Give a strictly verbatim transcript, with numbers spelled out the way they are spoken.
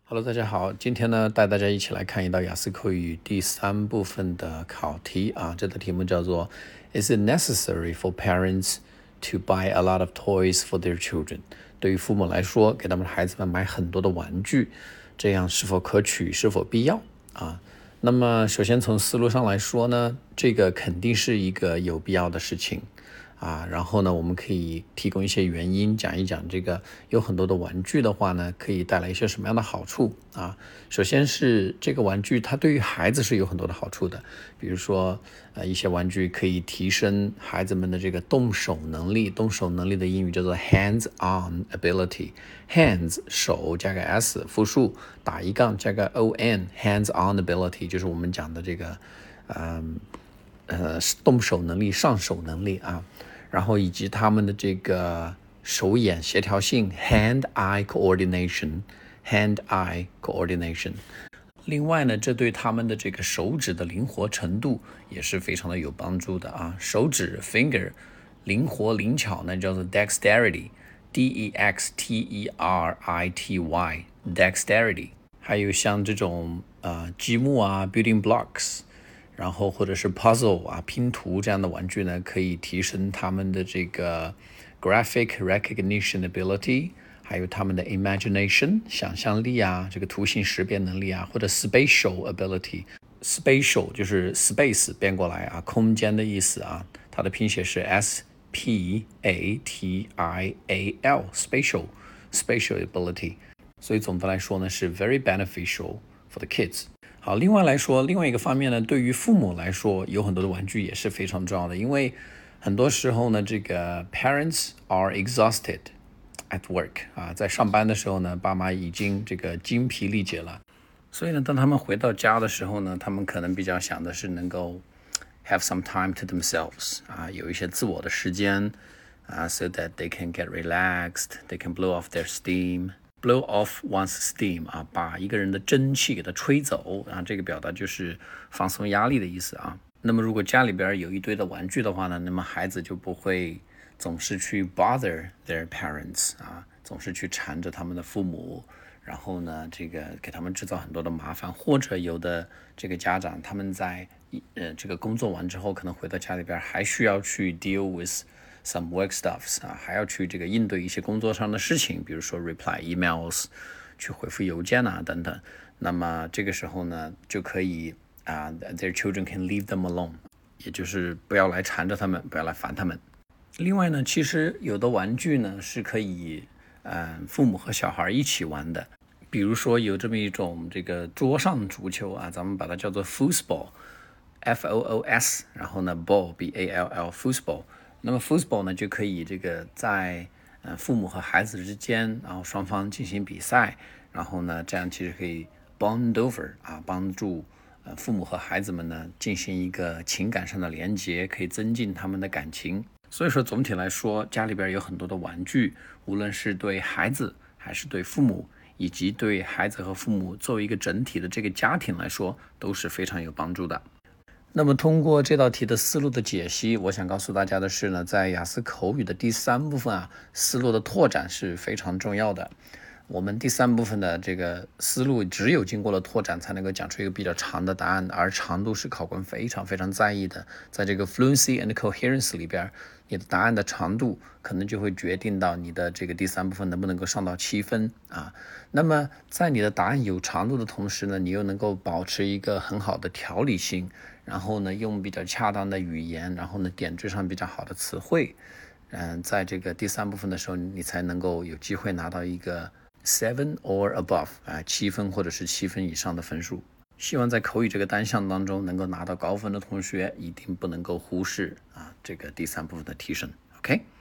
Hello，大家好，今天呢带大家一起来看一道雅思口语第三部分的考题啊，这道题目叫做 Is it necessary for parents to buy a lot of toys for their children？ 对于父母来说，给他们的孩子们买很多的玩具，这样是否可取，是否必要啊？那么首先从思路上来说呢，这个肯定是一个有必要的事情啊，然后呢，我们可以提供一些原因，讲一讲这个有很多的玩具的话呢，可以带来一些什么样的好处啊？首先是这个玩具它对于孩子是有很多的好处的，比如说呃一些玩具可以提升孩子们的这个动手能力，动手能力的英语叫做 hands-on ability，hands 手加个 s 复数打一杠加个 on hands-on ability 就是我们讲的这个嗯呃动手能力、上手能力啊。然后以及他们的这个手眼协调性 hand-eye coordination hand-eye coordination 另外呢，这对他们的这个手指的灵活程度也是非常的有帮助的啊。手指 finger 灵活灵巧呢叫做 dexterity D E X T E R I T Y dexterity 还有像这种呃积木啊 building blocks然后或者是 puzzle 啊拼图这样的玩具呢，可以提升他们的这个 graphic recognition ability， 还有他们的 imagination 想象力啊，这个图形识别能力啊，或者 spatial ability spatial 就是 space 变过来啊，空间的意思啊，它的拼写是 S P A T I A L spatial spatial ability， 所以总的来说呢是 very beneficial for the kids。好，另外来说，另外一个方面呢，对于父母来说，有很多的玩具也是非常重要的，因为很多时候呢，这个 parents are exhausted at work 啊，在上班的时候呢，爸妈已经这个精疲力竭了，所以呢，当他们回到家的时候呢，他们可能比较想的是能够 have some time to themselves 啊，有一些自我的时间啊 ，so that they can get relaxed, they can blow off their steam。blow off one's steam 啊，把一个人的真气给它吹走啊，这个表达就是放松压力的意思啊。那么如果家里边有一堆的玩具的话呢，那么孩子就不会总是去 bother their parents 啊，总是去缠着他们的父母，然后呢，这个给他们制造很多的麻烦，或者有的这个家长他们在呃这个工作完之后，可能回到家里边还需要去 deal with some work stuffs 啊，还要去这个应对一些工作上的事情，比如说 reply emails， 去回复邮件啊等等。那么这个时候呢，就可以啊、uh, their children can leave them alone， 也就是不要来缠着他们，不要来烦他们。另外呢，其实有的玩具呢是可以呃父母和小孩一起玩的，比如说有这么一种这个桌上足球啊，咱们把它叫做 foosball F O O S， 然后呢 ball B A L L foosball。那么 foosball 呢，就可以这个在呃父母和孩子之间，然后双方进行比赛，然后呢，这样其实可以 bond over 啊，帮助呃父母和孩子们呢进行一个情感上的连结，可以增进他们的感情。所以说总体来说，家里边有很多的玩具，无论是对孩子还是对父母，以及对孩子和父母作为一个整体的这个家庭来说，都是非常有帮助的。那么通过这道题的思路的解析，我想告诉大家的是呢，在雅思口语的第三部分啊，思路的拓展是非常重要的。我们第三部分的这个思路只有经过了拓展才能够讲出一个比较长的答案，而长度是考官非常非常在意的。在这个 fluency and coherence 里边，你的答案的长度可能就会决定到你的这个第三部分能不能够上到七分啊。那么在你的答案有长度的同时呢，你又能够保持一个很好的条理性，然后呢用比较恰当的语言，然后呢点缀上比较好的词汇，嗯，在这个第三部分的时候，你才能够有机会拿到一个seven or above 啊，七分或者是七分以上的分数。希望在口语这个单项当中能够拿到高分的同学，一定不能够忽视啊这个第三部分的提升。OK。